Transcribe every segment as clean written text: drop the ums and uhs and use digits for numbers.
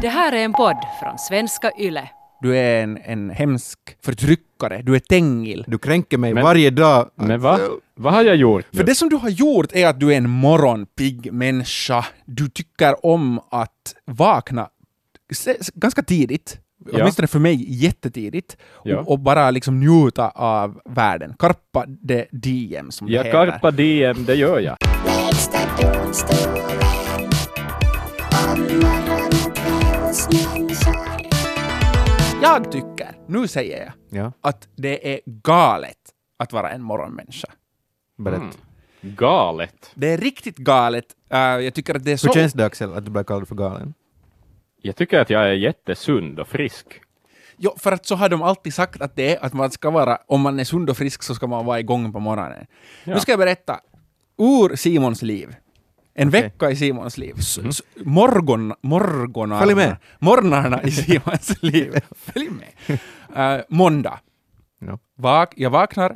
Det här är en podd från Svenska Yle. Du är en hemsk förtryckare. Du är Tengil. Du kränker mig varje dag. Men vad har jag gjort nu? För det som du har gjort är att du är en morgonpigg människa. Du tycker om att vakna ganska tidigt. Ja. Åtminstone för mig jättetidigt. Ja. Och bara liksom njuta av världen. Carpa de diem som det Ja, heter. Carpa diem, det gör jag. Jag tycker, nu säger jag, Ja, att det är galet att vara en morgonmänniska. berätta. Galet. Det är riktigt galet. Jag tycker att det är så... Hur känns det, Axel, att du blir kallad för galen? Jag tycker att jag är jättesund och frisk. Jo, för att så har de alltid sagt att det är att man ska vara, om man är sund och frisk så ska man vara igång på morgonen. Ja. Nu ska jag berätta ur Simons liv. En Okej. vecka i Simons liv. Morgonarna. Följ med. Morgonarna i Simons liv. Följ med. Måndag. Ja. Jag vaknar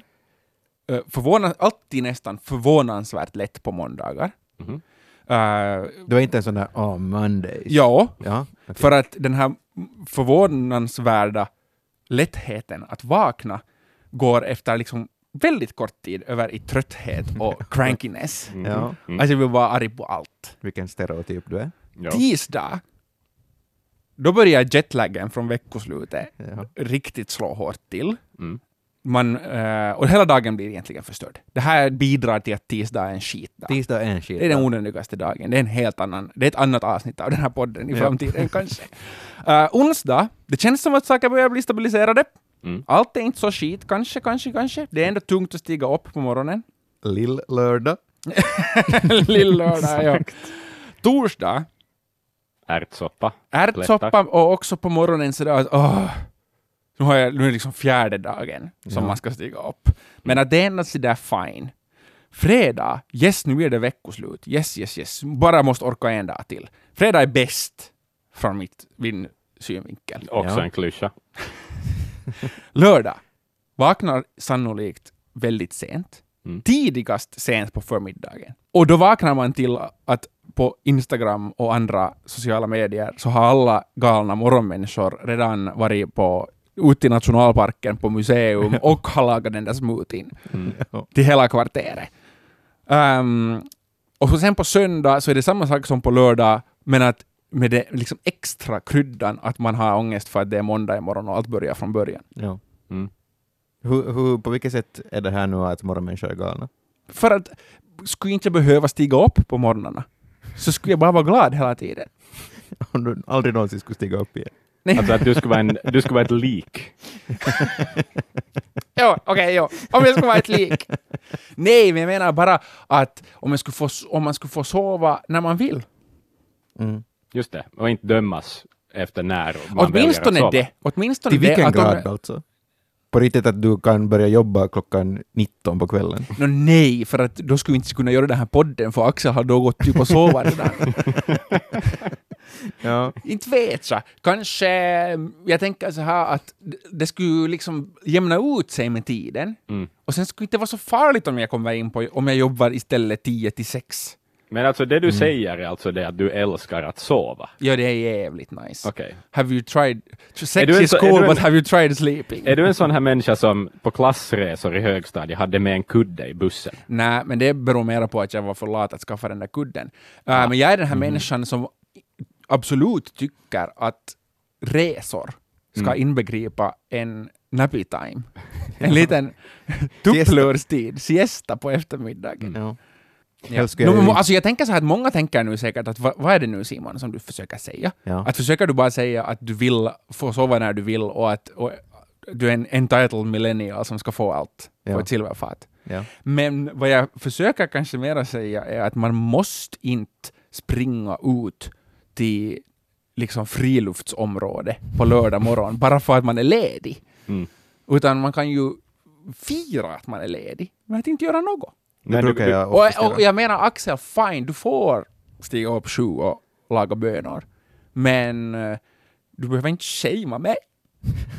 alltid nästan förvånansvärt lätt på måndagar. Mhm. Du är inte en sån där Mondays. Ja, Ja, okej. för att den här förvånansvärda lättheten att vakna går efter liksom väldigt kort tid över i trötthet och crankiness. Ja. Alltså jag vill vara arg på allt. Vilken stereotyp du är. Ja. Tisdag, då börjar jetlaggen från veckoslutet Ja. riktigt slå hårt till. Mm. Och hela dagen blir egentligen förstörd. Det här bidrar till att tisdag är en skitdag. Tisdag är en skit. Det är den onödigaste dagen. Det är en helt annan, det är ett annat avsnitt av den här podden i framtiden kanske. Onsdag, det känns som att saker börjar bli stabiliserade. Mm. Allt är inte så skit, kanske. Det är ändå tungt att stiga upp på morgonen. Lill-lördag. Lill-lördag, ja. Torsdag, Ärtsoppa. ärtsoppa och också på morgonen sådär att nu är det liksom fjärde dagen som Ja. man ska stiga upp. Men att det är ändå sådär fine. Fredag, yes, nu är det veckoslut. Yes. Bara måste orka en dag till. Fredag är bäst från min synvinkel. Också Ja. en klyscha. Lördag, vaknar sannolikt väldigt sent. Mm. Tidigast sent på förmiddagen. Och då vaknar man till att på Instagram och andra sociala medier så har alla galna morgonmänniskor redan varit ute i nationalparken på museum och har lagat den där smoothien till hela kvarteret. Och så sen på söndag så är det samma sak som på lördag, men att med det liksom extra kryddan att man har ångest för att det är måndag imorgon och allt börjar från början. Ja. Mm. På vilket sätt är det här nu att morgonmänniskor är galna? För att skulle inte behöva stiga upp på morgnarna så skulle jag bara vara glad hela tiden. Om du aldrig någonsin skulle stiga upp igen. Alltså att du skulle vara ett lik. Jo. Om jag skulle vara ett lik. Nej, men jag menar bara att om man skulle få sova när man vill. Mm. Just det. Och inte dömas efter när man Åtminstone väljer att sova. det. Åtminstone Till vilken det. grad alltså? På riktigt att du kan börja jobba klockan 19 på kvällen? Nej, för att då skulle vi inte kunna göra den här podden för Axel har då gått typ och sova redan. Ja. Inte vet jag. Kanske, jag tänker så här att det skulle liksom jämna ut sig med tiden. Mm. Och sen skulle det inte vara så farligt om jag kommer in på, om jag jobbar istället 10-6. Men alltså det du säger är alltså det att du älskar att sova. Ja, det är jävligt nice. Okej. Have you tried... Sex Är du en is så- är cool, du en- but have you tried sleeping? Är du en sån här människa som på klassresor i högstadiet hade med en kudde i bussen? Nej, men det beror mer på att jag var för lat att skaffa den där kudden. Men jag är den här människan som absolut tycker att resor ska inbegripa en nappy time. En liten tupplurstid, siesta på eftermiddagen. Ja. Ja. Helst skulle jag ju- Alltså jag tänker så här att många tänker nu säkert att vad är det nu Simon som du försöker säga? Ja. Att försöker du bara säga att du vill få sova när du vill och att du är en entitled millennial som ska få allt på Ja. ett silverfat. Ja. Men vad jag försöker kanske mera säga är att man måste inte springa ut till liksom friluftsområde på lördag morgon bara för att man är ledig. Mm. Utan man kan ju fira att man är ledig, men att inte göra något. Det brukar jag Och ofta jag menar Axel, fine, du får stiga upp 7 och laga bönor. Men du behöver inte shamea mig.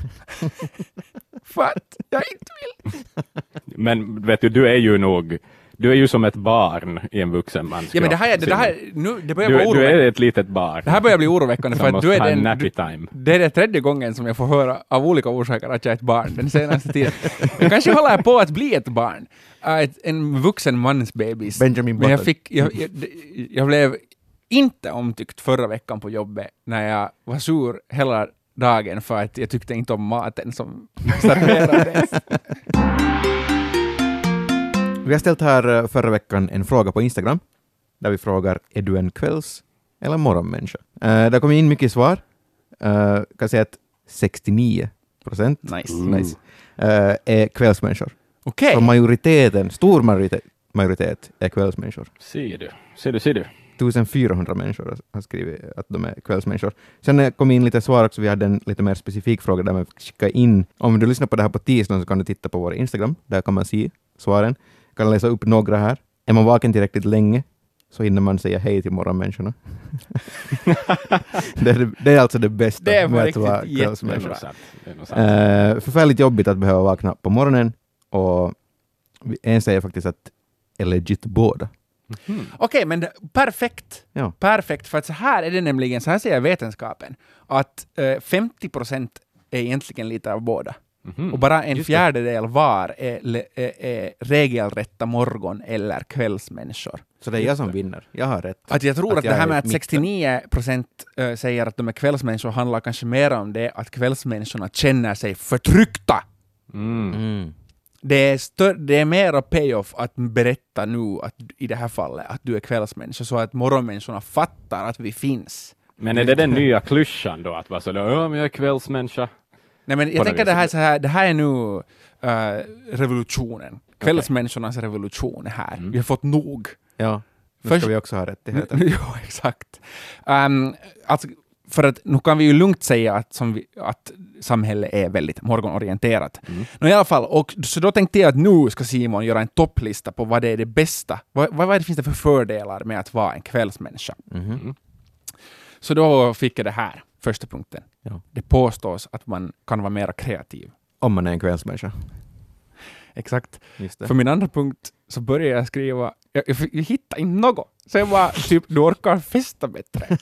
För att jag inte vill. Men vet du är ju nog Du är ju som ett barn i en vuxen mans Ja, men det börjar vara du är oroväckande. ett litet barn. Det här börjar bli oroväckande för att måste du är ha en den... nappy time. Det är det 3:e gången som jag får höra av olika orsaker att jag är ett barn den senaste tiden. Jag kanske håller på att bli ett barn. En vuxen mans bebis. Benjamin Men Button. jag blev inte omtyckt förra veckan på jobbet när jag var sur hela dagen för att jag tyckte inte om maten som serverades. Vi har ställt här förra veckan en fråga på Instagram där vi frågar, är du en kvälls- eller morgonmänniska? Det kom in mycket svar. Kan säga att 69% Nice. är kvällsmänniskor. Okej. Så majoriteten, stor majoritet är kvällsmänniskor. Ser du. 1400 människor har skrivit att de är kvällsmänniskor. Sen kom in lite svar också. Vi hade en lite mer specifik fråga där man skickar in. Om du lyssnar på det här på tisdagen så kan du titta på vår Instagram. Där kan man se svaren. Jag kan läsa upp några här. Är man vaken tillräckligt länge så hinner man säga hej till morgonmänniskorna. det är alltså det bästa Det är med att riktigt vara Det är kvällsmänniska. nog sant. Förfärligt jobbigt att behöva vakna på morgonen, och en säger faktiskt att är legit båda. Okej, men perfekt. Ja. Perfekt, för att så här är det nämligen, så här säger vetenskapen, att 50% är egentligen lite av båda. Och bara en fjärdedel var är regelrätta morgon- eller kvällsmänniskor. Så det är jag som vinner. Jag har rätt. Att jag tror att det jag här är med att mitten. 69% säger att de är kvällsmänniskor handlar kanske mer om det att kvällsmänniskorna känner sig förtryckta. Det är mera payoff att berätta nu att, i det här fallet att du är kvällsmänniska, så att morgonmänniskorna fattar att vi finns. Men är det den nya klyschan då? Att vara så där, men jag är kvällsmänniska. Nej, men jag tänker det här är nu revolutionen. Kvällsmänniskornas revolution är här. Vi har fått nog. Ja, nu Först- ska vi också ha rättigheter. Ja, exakt. Alltså, för att nu kan vi ju lugnt säga att samhället är väldigt morgonorienterat. I alla fall, och så då tänkte jag att nu ska Simon göra en topplista på vad det är det bästa. Vad finns det för fördelar med att vara en kvällsmänniska? Så då fick jag det här, första punkten. Ja. Det påstås att man kan vara mer kreativ. Om man är en kvällsmänniska. Exakt. Just det. För min andra punkt så började jag skriva, jag hittade inte något. Så jag var typ, du orkar festa bättre.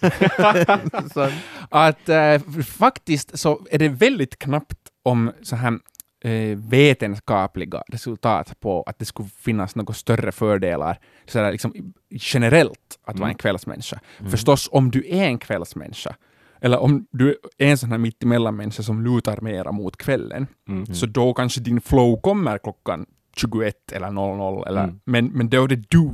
Att faktiskt så är det väldigt knappt om så här vetenskapliga resultat på att det skulle finnas några större fördelar så där, liksom, generellt att vara en kvällsmänniska. Förstås, om du är en kvällsmänniska eller om du är en sån här mittemellanmänniska som lutar mera mot kvällen, så då kanske din flow kommer klockan 21 eller 00 eller, men då är det du.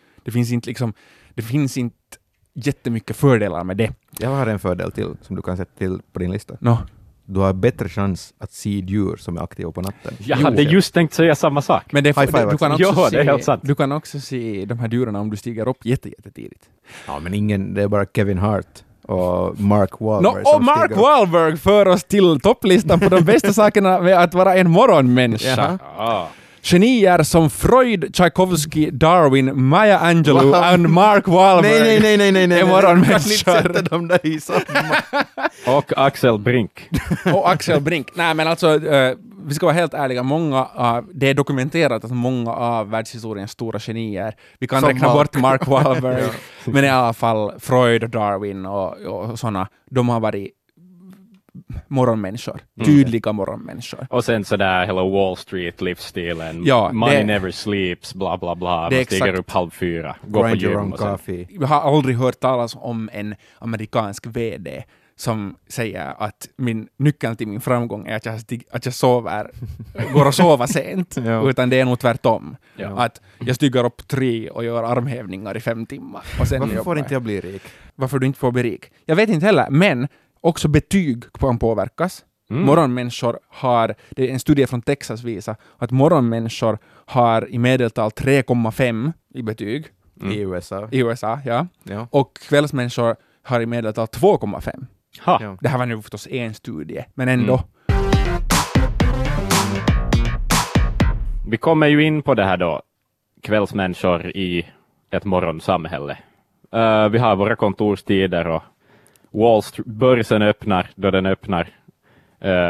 Det finns inte jättemycket fördelar med det. Jag har en fördel till som du kan sätta till på din lista. No. Du har bättre chans att se djur som är aktiva på natten. Jag hade just tänkt säga samma sak. Men High five du kan också Ja, det är helt sant. du kan också se de här djuren om du stiger upp jättetidigt. Ja, men det är bara Kevin Hart och Mark Wahlberg Och som Mark stiger upp. Wahlberg för oss till topplistan på de bästa sakerna med att vara en morgonmänniska. Jaha. Ah. Genier som Freud, Tchaikovsky, Darwin, Maya Angelou och Mark Wahlberg. Nej. är Du kan inte morgonmänniskor. sätta dem där i samma. Och Axel Brink. Och Axel Brink. Nej, men alltså, vi ska vara helt ärliga. Det är dokumenterat att många av världshistoriens stora genier, vi kan Som räkna Mark. bort Mark Wahlberg, men i alla fall Freud och Darwin och sådana, de har varit morgonmänniskor. Tydliga morgonmänniskor. Och sen sådär hela Wall Street-livsstilen. Ja, Money det- never sleeps, bla bla bla. Det är Man stiger exakt. upp 3:30, går på Grind your gym own och sen... coffee. Jag har aldrig hört talas om en amerikansk VD som säger att nyckeln till min framgång är att jag går och sover sent, Ja. utan det är nog tvärtom. Ja. Att jag stiger upp 3 och gör armhävningar i 5 timmar. Och sen Varför jobbar får jag. inte jag bli rik? Varför du inte får bli rik? Jag vet inte heller, men också betyg kan påverkas. Morgonmänniskor har, det är en studie från Texas visar att morgonmänniskor har i medeltal 3,5 i betyg I USA. i USA, ja. Ja. Och kvällsmänniskor har i medeltal 2,5. Ha. Ja. Det här var nu förstås en studie, men ändå. Vi kommer ju in på det här då, kvällsmänniskor i ett morgonsamhälle. Vi har våra kontorstider och börsen öppnar då den öppnar.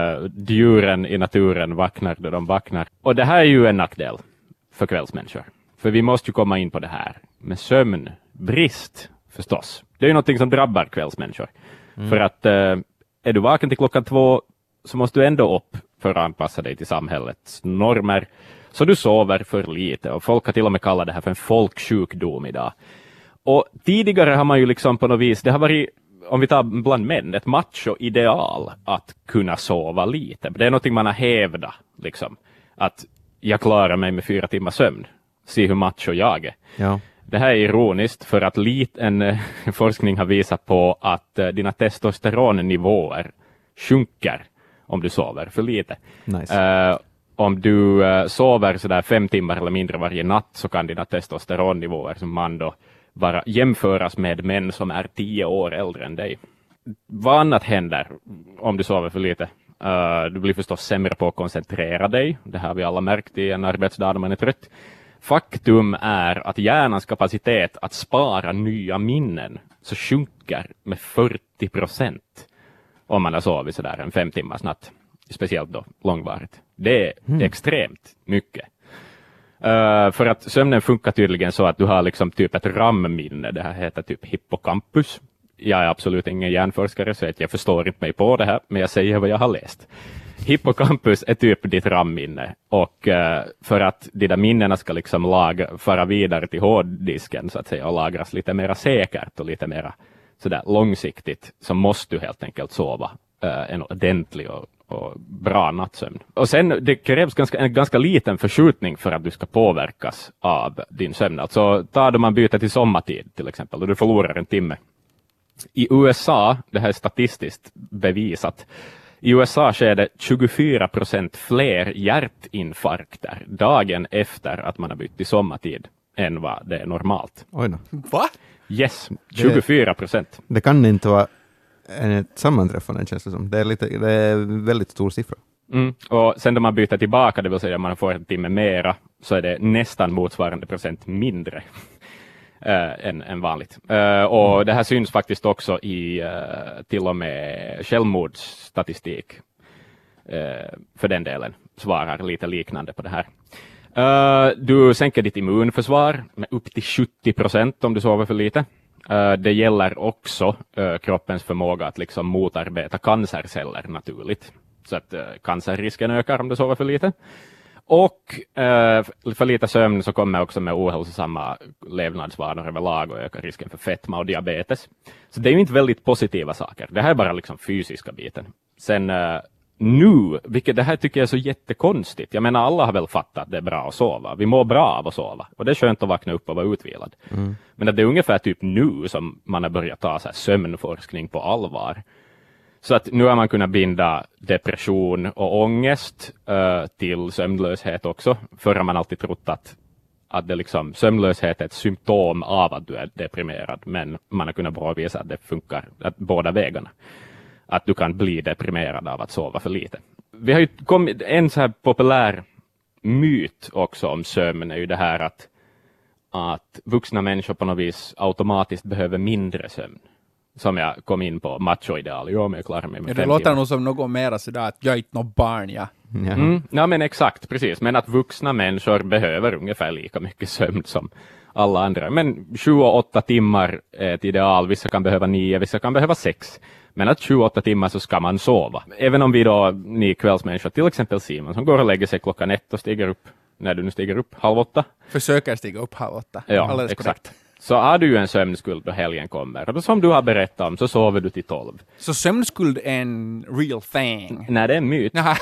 Djuren i naturen vaknar då de vaknar. Och det här är ju en nackdel för kvällsmänniskor. För vi måste ju komma in på det här med sömnbrist förstås. Det är ju någonting som drabbar kvällsmänniskor. För att är du vaken till klockan 2 så måste du ändå upp för att anpassa dig till samhällets normer. Så du sover för lite och folk har till och med kallat det här för en folksjukdom idag. Och tidigare har man ju liksom på något vis, det har varit, om vi tar bland män, ett macho-ideal att kunna sova lite. Det är någonting man har hävdat, liksom. Att jag klarar mig med 4 timmar sömn. Se hur macho jag är. Ja. Det här är ironiskt för att en forskning har visat på att dina testosteronnivåer sjunker om du sover för lite. Nice. Om du sover sådär 5 timmar eller mindre varje natt så kan dina testosteronnivåer som man då jämföras med män som är 10 år äldre än dig. Vad annat händer om du sover för lite? Du blir förstås sämre på att koncentrera dig. Det har vi alla märkt i en arbetsdag när man är trött. Faktum är att hjärnans kapacitet att spara nya minnen så sjunker med 40% om man har sovit sådär en 5 timmars natt. Speciellt då långvarigt. Det är extremt mycket. För att sömnen funkar tydligen så att du har liksom typ ett RAM-minne. Det här heter typ hippocampus. Jag är absolut ingen hjärnforskare så jag förstår inte mig på det här, men jag säger vad jag har läst. Hippocampus är typ ditt RAM-minne och för att de där minnena ska liksom föra vidare till hårddisken så att säga och lagras lite mer säkert och lite mer sådär långsiktigt så måste du helt enkelt sova en ordentlig och bra nattsömn. Och sen det krävs en ganska liten förskjutning för att du ska påverkas av din sömn. Alltså då man byter till sommartid till exempel och du förlorar en timme. I USA, det här är statistiskt bevisat, i USA sker det 24% fler hjärtinfarkter dagen efter att man har bytt till sommartid än vad det är normalt. Oj då. Va? Yes, 24%. Det kan inte vara ett sammanträffande känns det som. Det är väldigt stor siffra. Och sen när man byter tillbaka, det vill säga man får en timme mera, så är det nästan motsvarande procent mindre än vanligt. Och det här syns faktiskt också i till och med självmordsstatistik. För den delen svarar lite liknande på det här. Du sänker ditt immunförsvar med upp till 70% om du sover för lite. Det gäller också kroppens förmåga att liksom motarbeta cancerceller naturligt. Så att cancerrisken ökar om du sover för lite. Och för lite sömn så kommer också med ohälsosamma levnadsvanor överlag och ökar risken för fetma och diabetes. Så det är ju inte väldigt positiva saker. Det här är bara liksom fysiska biten. Sen nu, vilket det här tycker jag är så jättekonstigt. Jag menar alla har väl fattat att det är bra att sova. Vi mår bra av att sova. Och det är skönt att vakna upp och vara utvilad. Men att det är ungefär typ nu som man har börjat ta så här sömnforskning på allvar. Så att nu har man kunnat binda depression och ångest till sömnlöshet också. Förr har man alltid trott att det liksom, sömnlöshet är ett symptom av att du är deprimerad. Men man har kunnat påvisa att det funkar att båda vägarna. Att du kan bli deprimerad av att sova för lite. Vi har ju kommit, en så här populär myt också om sömn är ju det här att vuxna människor på något vis automatiskt behöver mindre sömn. Som jag kom in på, macho-ideal. Jo, men jag klarar mig med 5 det låter nog som något mera sådär att jag är inte något barn, ja. Ja, men exakt, precis. Men att vuxna människor behöver ungefär lika mycket sömn som alla andra. Men 7-8 timmar är ett ideal. Vissa kan behöva 9, vissa kan behöva 6. Men att 7-8 timmar så ska man sova. Även om vi då, ni kvällsmänniskor, till exempel Simon, som går och lägger sig klockan 1 och stiger upp, när du nu stiger upp 7:30. Försöker stiga upp 7:30. Ja, alldeles exakt. korrekt. Så har du ju en sömnskuld då helgen kommer. Och som du har berättat om så sover du till 12. Så sömnskuld är en real thing? Nej, det är en myt. Jaha.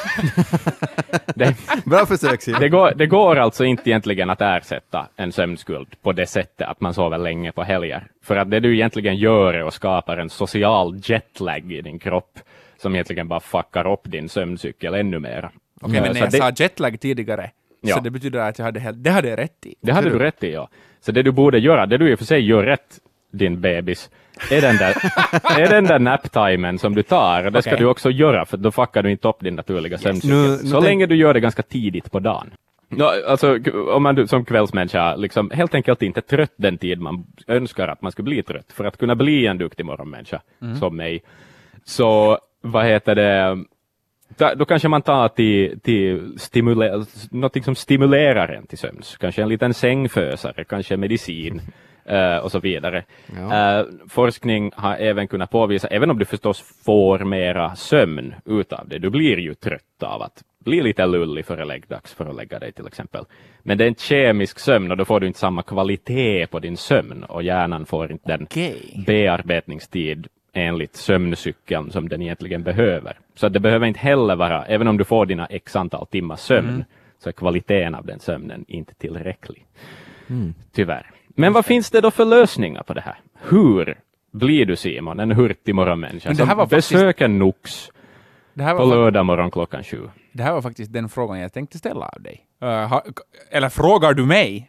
Bra försök, Simon. Det går alltså inte egentligen att ersätta en sömnskuld på det sättet att man sover länge på helger. För att det du egentligen gör är att skapa en social jetlag i din kropp som egentligen bara fuckar upp din sömncykel ännu mer. Okej, men när jag sa jetlag tidigare, Ja. så det betyder att det hade jag rätt i. Det hade du rätt i, ja. Så det du borde göra, det du i och för sig gör rätt, din bebis, är den där nap-timen som du tar. Och det ska Okej. du också göra, för då fuckar du inte upp din naturliga sömncykel. Så länge du gör det ganska tidigt på dagen. Alltså, om man som kvällsmänniska liksom helt enkelt inte är trött den tid man önskar att man skulle bli trött. För att kunna bli en duktig morgonmänniska som mig. Så, Då kanske man tar till något som stimulerar en till sömns. Kanske en liten sängfösare, kanske medicin och så vidare. Ja. Forskning har även kunnat påvisa, även om du förstås får mera sömn utav det, du blir ju trött av att bli lite lullig före dags för att lägga dig till exempel. Men det är en kemisk sömn och då får du inte samma kvalitet på din sömn och hjärnan får inte den bearbetningstid enligt sömncykeln som den egentligen behöver. Så det behöver inte heller vara, även om du får dina x antal timmar sömn, så är kvaliteten av den sömnen inte tillräcklig. Tyvärr. Men vad finns det då för lösningar på det här? Hur blir du, Simon, en hurtig morgonmänniska som besöker Nux på lördag morgon 7:00? Det här var faktiskt den frågan jag tänkte ställa av dig. Eller frågar du mig?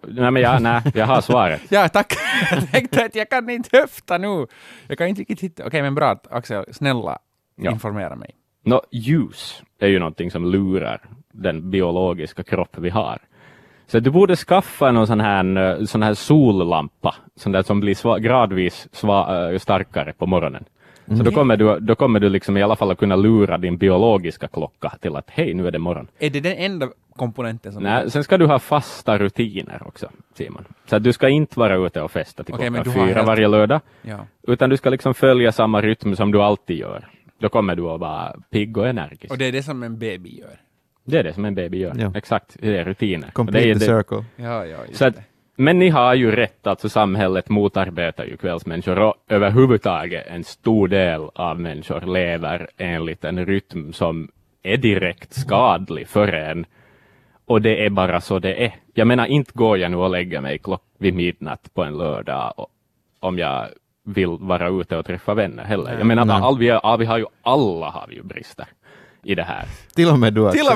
Jag har svaret. Ja, tack. Jag tänkte att jag kan inte höfta nu. Jag kan inte riktigt hitta. Okej, men bra, Axel, snälla informera mig. Ljus är ju någonting som lurar den biologiska kropp vi har. Så du borde skaffa någon sån här sollampa, sån där som blir gradvis starkare på morgonen. Så då kommer du liksom i alla fall att kunna lura din biologiska klocka till att hej, nu är det morgon. Är det den enda komponenten som... Nej, sen ska du ha fasta rutiner också, Simon. Så att du ska inte vara ute och festa till klockan 4 varje lördag. Ja. Utan du ska liksom följa samma rytm som du alltid gör. Då kommer du att vara pigg och energisk. Och det är det som en baby gör. Det är det som en baby gör. Ja. Exakt, det är rutiner. Complete the circle. Ja, just så att, men ni har ju rätt, alltså samhället motarbetar ju kvällsmänniskor och överhuvudtaget en stor del av människor lever enligt en rytm som är direkt skadlig för en. Och det är bara så det är. Jag menar, inte går jag nu och lägger mig vid midnatt på en lördag om jag vill vara ute och träffa vänner heller. Jag menar, alla har ju brister i det här. Till och med du också.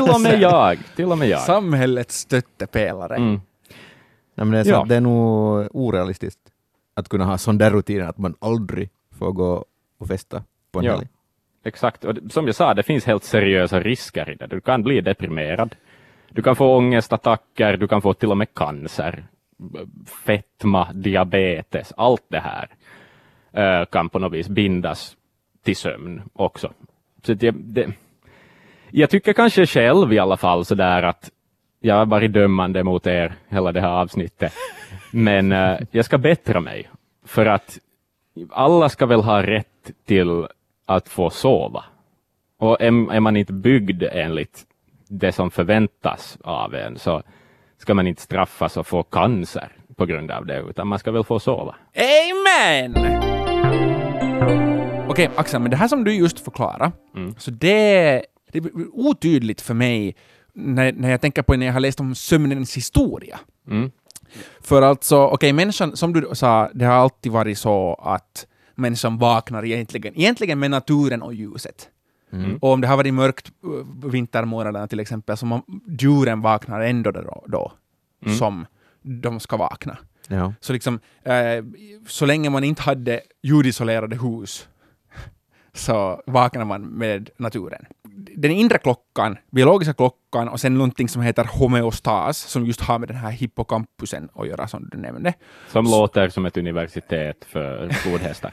Till och med jag. Samhällets stöttepelare. Nej, men det är nog orealistiskt att kunna ha sån där rutin att man aldrig får gå och festa på en helg. Exakt. Och som jag sa, det finns helt seriösa risker i det. Du kan bli deprimerad. Du kan få ångestattacker. Du kan få till och med cancer. Fetma, diabetes. Allt det här kan på något vis bindas till sömn också. Så jag tycker kanske själv i alla fall sådär att jag har varit dömande mot er hela det här avsnittet. Men jag ska bättra mig. För att alla ska väl ha rätt till att få sova. Och är man inte byggd enligt det som förväntas av en, så ska man inte straffas och få cancer på grund av det. Utan man ska väl få sova. Amen! Okej, Axel, men det här som du just förklarar, så det är otydligt för mig när jag tänker på när jag har läst om sömnens historia. För alltså, människan, som du sa, det har alltid varit så att människan vaknar egentligen med naturen och ljuset. Och om det har varit mörkt vintermånaderna till exempel, så djuren vaknar ändå då som de ska vakna. Ja. Så liksom, så länge man inte hade ljudisolerade hus så vaknar man med naturen. Den inre klockan, biologiska klockan, och sen någonting som heter homeostas, som just har med den här hippocampusen att göra, som du nämnde. Som låter som ett universitet för flodhästar.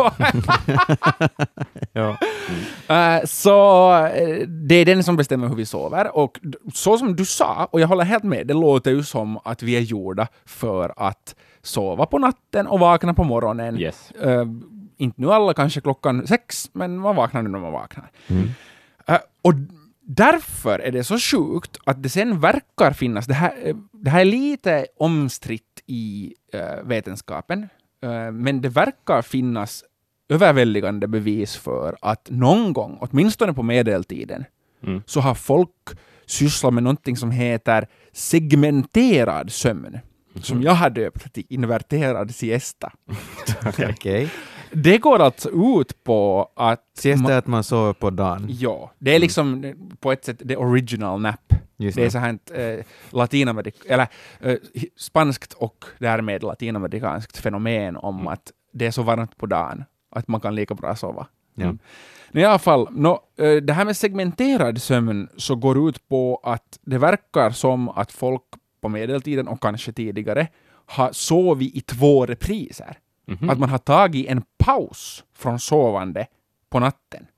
Ja. Så det är den som bestämmer hur vi sover. Och så som du sa, och jag håller helt med, det låter ju som att vi är gjorda för att sova på natten och vakna på morgonen. Yes. Inte nu alla kanske 6, men man vaknar nu när man vaknar. Och därför är det så sjukt att det sen verkar finnas, det här är lite omstritt i vetenskapen, men det verkar finnas överväldigande bevis för att någon gång, åtminstone på medeltiden, så har folk sysslat med någonting som heter segmenterad sömn. Som jag har döpt till inverterad siesta. Okej. Det går alltså ut på att... Siesta är att man sover på dagen. Ja, det är liksom på ett sätt the original nap. Just det är så här spanskt och därmed latinamerikanskt fenomen om att det är så varmt på dagen att man kan lika bra sova. Ja. I alla fall, det här med segmenterad sömn så går ut på att det verkar som att folk på medeltiden och kanske tidigare har sovit i 2 repriser. Att man har tagit en paus från sovande på natten.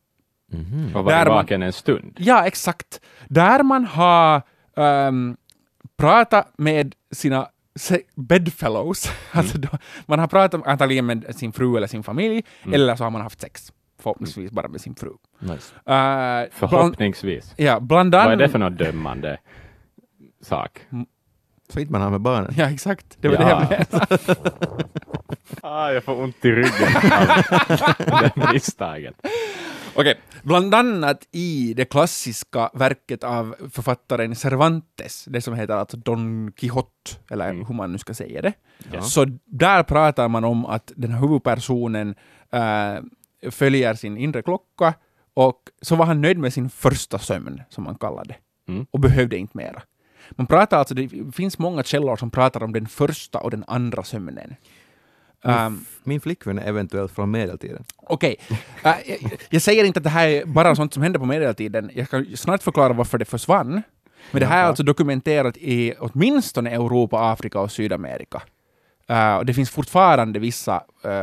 Och var Där man- vaken en stund. Ja, exakt. Där man har pratat med sina bedfellows. Alltså man har pratat antagligen med sin fru eller sin familj, eller så har man haft sex. Förhoppningsvis bara med sin fru. Nice. Förhoppningsvis. Bland Vad är annat... det för något dömande sak? Så inte man har med barnen. Ja, exakt. Det var det jag menade. Jag får ont i ryggen av det misstaget. Okej, bland annat i det klassiska verket av författaren Cervantes, det som heter alltså Don Quixote, eller hur man nu ska säga det. Ja. Så där pratar man om att den här huvudpersonen följer sin inre klocka, och så var han nöjd med sin första sömn, som man kallade det, och behövde inte mera. Man pratar alltså, det finns många källor som pratar om den första och den andra sömnen. Min flickvän är eventuellt från medeltiden. Okej, jag säger inte att det här är bara sånt som hände på medeltiden. Jag kan snart förklara varför det försvann. Men det här är alltså dokumenterat i åtminstone Europa, Afrika och Sydamerika. Och det finns fortfarande vissa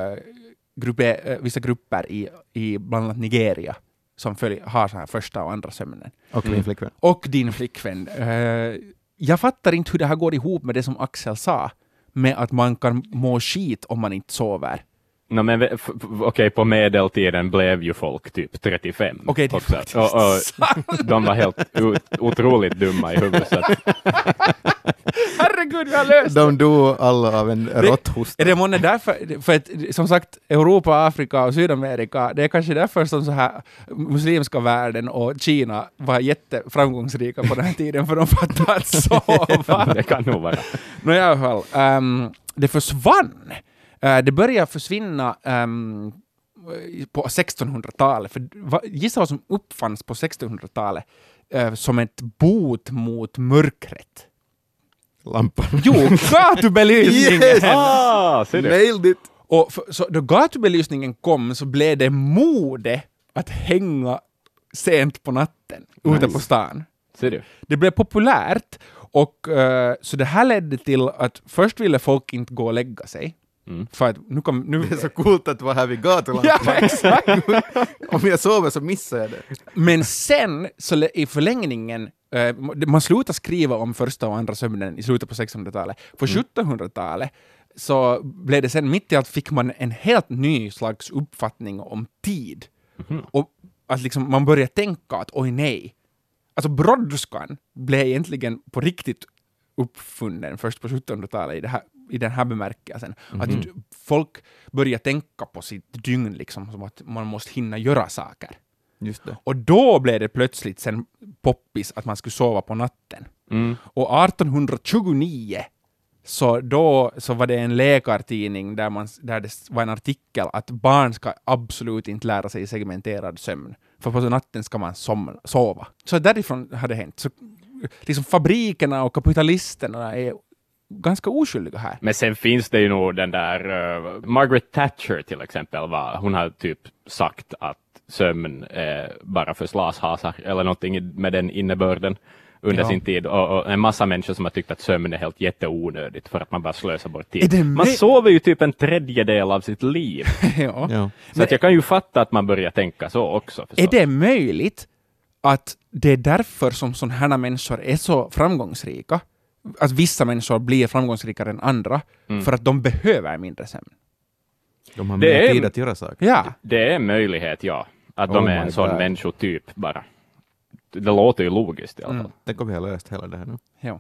grupper i bland annat Nigeria som har så här första och andra sömnen. Och min flickvän. Och din flickvän. Jag fattar inte hur det här går ihop med det som Axel sa, med att man kan må skit om man inte sover. No, men okej, på medeltiden blev ju folk typ 35. Okej, det är också. faktiskt och de var helt otroligt dumma i huvudet. Så att, Herregud, vi har löst det! De dog alla av en råtthosta. Är det månne därför, för att, som sagt, Europa, Afrika och Sydamerika, det är kanske därför som så här muslimska världen och Kina var jätteframgångsrika på den här tiden, för de fattar att sova. det kan nog vara. I alla fall, det försvann. Det började försvinna på 1600-talet. För gissa vad som uppfanns på 1600-talet som ett bot mot mörkret. Lampan. Jo, gatubelysningen! Ser du? Nailed it! Och så då gatubelysningen kom så blev det mode att hänga sent på natten ute på stan. Ser du? Det blev populärt, och så det här ledde till att först ville folk inte gå och lägga sig. För att nu Det är så coolt att vara här vid gatulampan. ja, exakt. Om jag sover så missar jag det. Men sen, så i förlängningen, man slutade skriva om första och andra sömnen i slutet på 1600-talet. På 1700-talet så blev det sen, mitt i allt fick man en helt ny slags uppfattning om tid. Och att liksom man började tänka att oj nej. Alltså brådskan blev egentligen på riktigt uppfunnen först på 1700-talet i den här bemärkelsen. Att folk börjar tänka på sitt dygn liksom, som att man måste hinna göra saker. Just det. Och då blev det plötsligt sen poppis att man skulle sova på natten. Och 1829 så var det en läkartidning där det var en artikel att barn ska absolut inte lära sig segmenterad sömn. För på natten ska man sova. Så därifrån hade det hänt. Så liksom fabrikerna och kapitalisterna är ganska oskyldiga här. Men sen finns det ju nog den där Margaret Thatcher till exempel, hon har typ sagt att sömn är bara för slashasar eller någonting med den innebörden under sin tid, och en massa människor som har tyckt att sömn är helt jätteonödigt för att man bara slösar bort tid. Man sover ju typ en tredjedel av sitt liv. Ja. Så att jag kan ju fatta att man börjar tänka så också. Är det möjligt att det är därför som sådana här människor är så framgångsrika? Att vissa människor blir framgångsrikare än andra för att de behöver mindre sömn? De har mer tid att göra saker. Ja. Det är en möjlighet, ja. Att de är en sån människotyp bara. Det låter ju logiskt i alla fall. Tänk om vi har löst hela det här nu. Ja.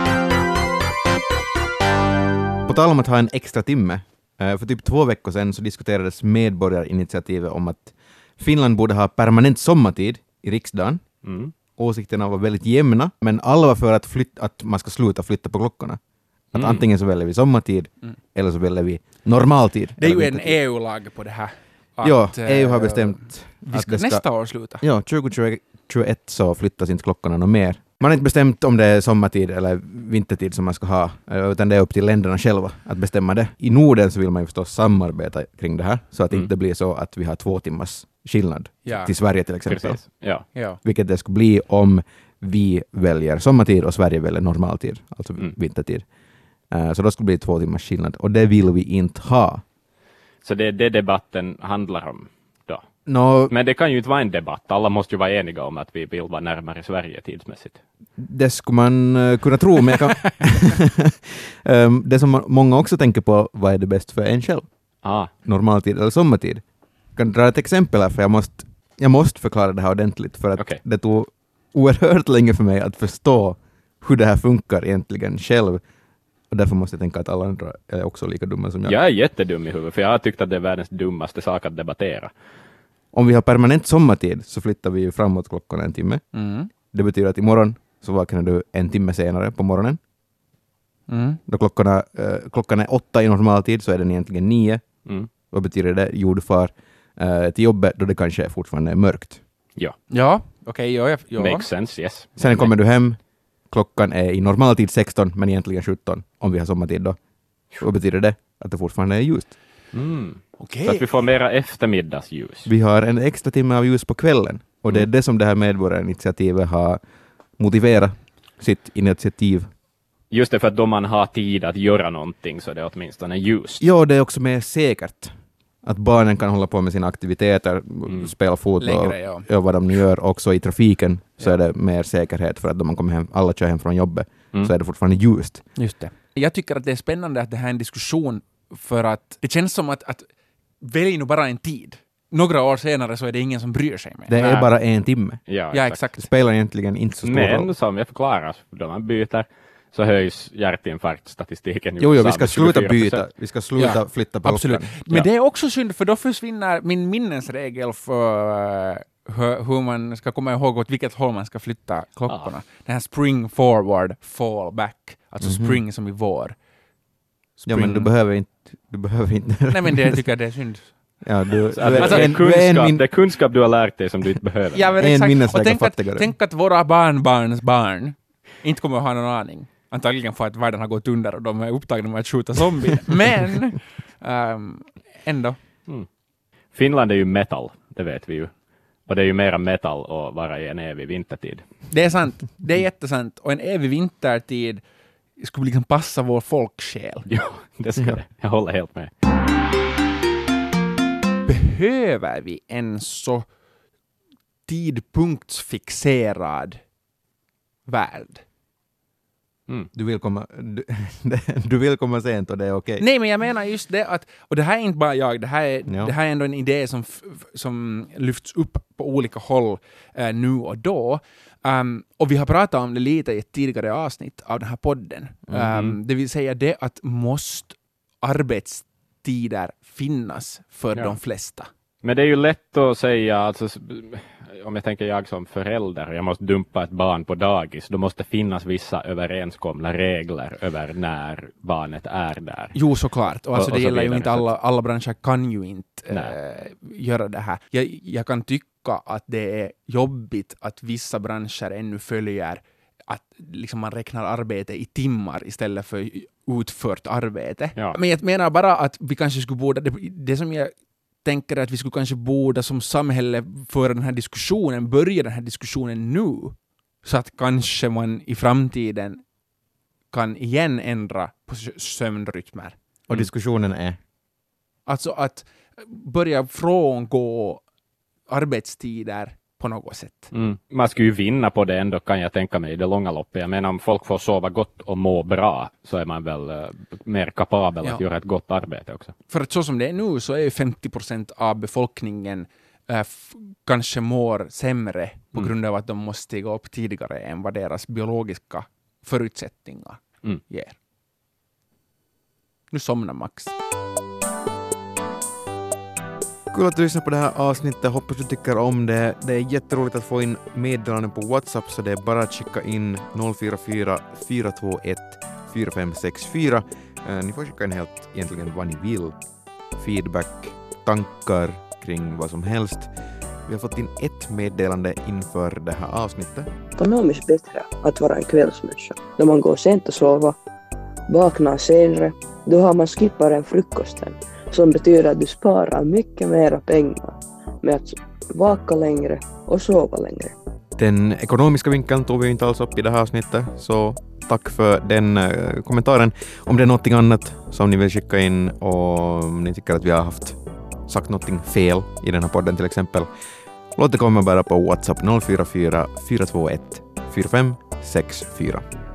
På tal om att ha en extra timme. För typ 2 veckor sedan så diskuterades medborgarinitiativet om att Finland borde ha permanent sommartid i riksdagen. Åsikterna var väldigt jämna, men alla var för att man ska sluta flytta på klockorna. Att antingen så väljer vi sommartid eller så väljer vi normaltid. Det är ju en EU-lag på det här. Ja, EU har bestämt vi ska nästa år sluta. Ja, 2021 så flyttas inte klockorna något mer. Man har inte bestämt om det är sommartid eller vintertid som man ska ha, utan det är upp till länderna själva att bestämma det. I Norden så vill man ju förstås samarbeta kring det här, så att det inte blir så att vi har 2 timmars skillnad till Sverige till exempel. Ja. Vilket det skulle bli om vi väljer sommartid och Sverige väljer normaltid, alltså vintertid. Så då skulle det bli 2 timmars skillnad, och det vill vi inte ha. Så det är det debatten handlar om då? Men det kan ju inte vara en debatt. Alla måste ju vara eniga om att vi vill vara närmare Sverige tidsmässigt. Det skulle man kunna tro, men jag kan... det som många också tänker på, vad är det bäst för en själv? Normaltid eller sommartid? Jag kan dra ett exempel här, för jag måste förklara det här ordentligt, för att det tog oerhört länge för mig att förstå hur det här funkar egentligen själv. Och därför måste jag tänka att alla andra är också lika dumma som jag. Jag är jättedum i huvudet, för jag har tyckt att det är världens dummaste sak att debattera. Om vi har permanent sommartid så flyttar vi ju framåt klockan 1 timme. Mm. Det betyder att imorgon så vaknar du 1 timme senare på morgonen. Mm. Då klockan är 8 i normaltid, så är den egentligen 9. Mm. Vad betyder det? Jo, du far till jobbet då det kanske fortfarande är mörkt. Ja, okej. Ja. makes sense, yes. Sen kommer du hem, klockan är i normaltid 16, men egentligen 17 om vi har sommartid då. Vad betyder det? Att det fortfarande är ljust. Okej. Så att vi får mera eftermiddagsljus. Vi har en extra timme av ljus på kvällen, och det är det som det här medborgarinitiativet har motiverat sitt initiativ. Just det, för att då man har tid att göra någonting så det är åtminstone ljust. Ja, det är också mer säkert. Att barnen kan hålla på med sina aktiviteter, spela fotboll och vad de nu gör. Också i trafiken så är det mer säkerhet, för att då man kommer hem, alla kör hem från jobbet, så är det fortfarande ljust. Just det. Jag tycker att det är spännande att det här är en diskussion, för att det känns som att välj nu bara en tid. Några år senare så är det ingen som bryr sig mer. Det är bara 1 timme. Ja, exakt. Det spelar egentligen inte så stor roll. Men som jag förklarar, då man byter så höjs hjärtinfarktstatistiken. Jo, vi ska sluta byta. Vi ska sluta flytta på absolut. klockan. Men det är också synd, för då försvinner min minnesregel för hur man ska komma ihåg åt vilket håll man ska flytta klockorna. Den här spring forward, fall back. Alltså spring som i vår. Ja, men du behöver inte... Nej, men det tycker jag det är synd. Ja, det är kunskap du har lärt dig som du inte behöver. Ja, men exakt. Och tänk tänk att våra barnbarns barn inte kommer att ha någon aning. Antagligen för att världen har gått under och de är upptagna med att skjuta zombier. Men ändå. Finland är ju metal, det vet vi ju. Och det är ju mera metal att vara i en evig vintertid. Det är sant. Det är jättesant. Och en evig vintertid skulle liksom passa vår folksjäl. Ja, det ska det. Jag håller helt med. Behöver vi en så tidpunktsfixerad värld? Du vill komma sent och det är okej. Nej, men jag menar just det att, och det här är inte bara jag, det här är ändå en idé som lyfts upp på olika håll nu och då. Och vi har pratat om det lite i ett tidigare avsnitt av den här podden. Det vill säga det att måste arbetstider finnas för de flesta. Men det är ju lätt att säga, alltså, om jag tänker jag som förälder, jag måste dumpa ett barn på dagis, då måste finnas vissa överenskomna regler över när barnet är där. Jo, såklart. Och alltså, det gäller ju inte alla branscher kan ju inte göra det här. Jag kan tycka att det är jobbigt att vissa branscher ännu följer att liksom man räknar arbete i timmar istället för utfört arbete. Ja. Men jag menar bara att vi kanske skulle borde, det som jag tänker att vi skulle kanske borde som samhälle föra den här diskussionen, börja den här diskussionen nu, så att kanske man i framtiden kan igen ändra på sömnrytmer. Och diskussionen är? Alltså att börja frångå arbetstider på något sätt. Man skulle ju vinna på det ändå, kan jag tänka mig, i det långa loppet. Jag menar, om folk får sova gott och må bra så är man väl mer kapabel att göra ett gott arbete också. För att så som det är nu så är ju 50% av befolkningen kanske mår sämre på grund av att de måste stiga upp tidigare än vad deras biologiska förutsättningar ger. Nu somnar Max. Kul att du lyssnar på det här avsnittet. Hoppas du tycker om det. Det är jätteroligt att få in meddelanden på WhatsApp, så det är bara att skicka in 044 421 4564. Ni får skicka in helt egentligen vad ni vill. Feedback, tankar kring vad som helst. Vi har fått in ett meddelande inför det här avsnittet. Ekonomiskt bättre att vara en kvällsmänniska. När man går sent och sova, vaknar senare, då har man skippat en frukosten. Som betyder att du sparar mycket mera pengar med att vaka längre och sova längre. Den ekonomiska vinkeln tog vi inte alls upp i det här avsnittet, så tack för den kommentaren. Om det är något annat som ni vill skicka in och om ni tycker att vi har haft sagt någonting fel i den här podden till exempel, låt det komma bara på WhatsApp 044 421 4564.